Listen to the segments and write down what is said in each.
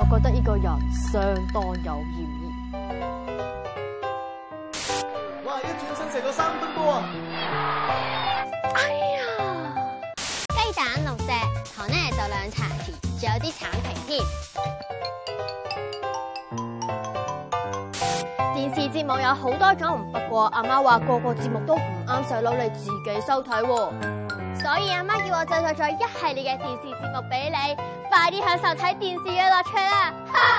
我覺得呢個人相當有嫌疑。 哇！一轉身射咗3分波啊！ 哎呀！ 雞蛋6隻，糖呢就2茶匙，仲有啲橙皮添。 電視節目有好多種，不過阿媽話個個節目都唔啱細佬你自己收睇喎。 所以阿媽叫我製作咗一系列嘅電視節目俾你，快啲享受睇電視嘅樂趣啦！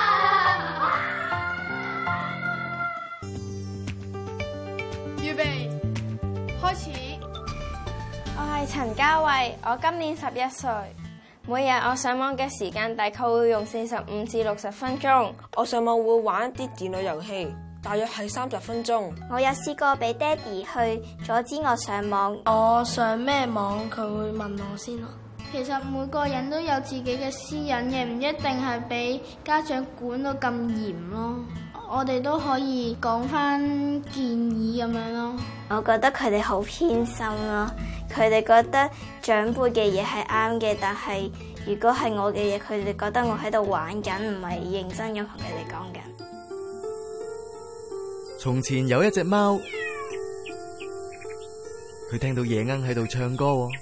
預備，開始。 我係陳嘉慧，我今年11歲。每日我上網嘅時間大概會用45至60分鐘。 我上網會玩一啲電腦遊戲，大約係30分鐘。 我有試過俾爹哋去阻止我上網。 我上咩網，佢會問我先咯。其實每個人都有自己嘅私隱嘅，唔一定係俾家長管到咁嚴咯。我哋都可以講翻建議咁樣咯。 我覺得佢哋好偏心咯，佢哋覺得長輩嘅嘢係啱嘅，但係如果係我嘅嘢，佢哋覺得我喺度玩緊，唔係認真咁同佢哋講緊。 從前有一隻貓，佢聽到夜鶯喺度唱歌喎。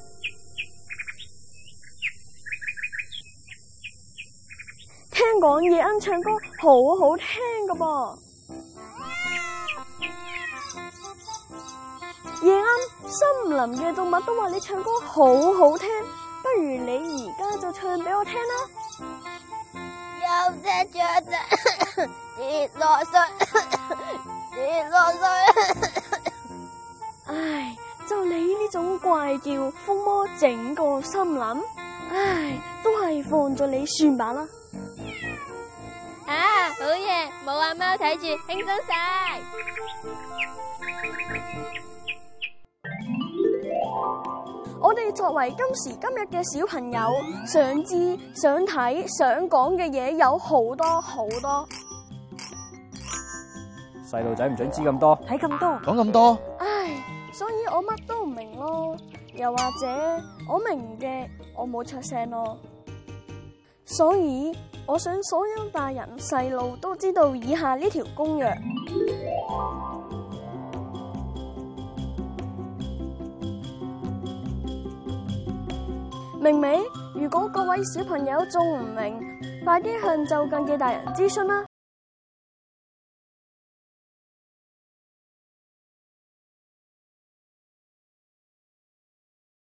聽講夜鶯唱歌好好聽噶噃。夜鶯，森林嘅動物都話你唱歌好好聽，不如你而家就唱俾我聽啦。 有隻雀仔跌落水，跌落水。 唉，就你呢種怪叫，瘋魔整個森林，唉，都係放咗你算吧啦。 啊，好嘢，冇阿貓睇住，輕鬆晒。 我哋作為今時今日嘅小朋友，想知、想睇、想講嘅嘢有好多好多。 細路仔唔准知咁多， 睇咁多， 講咁多， 唉，所以我乜都唔明咯。又或者我明嘅，我冇出聲咯。所以我想所有大人細路都知道以下呢條公約。明未？如果各位小朋友仲唔明，快啲向就近嘅大人諮詢啦。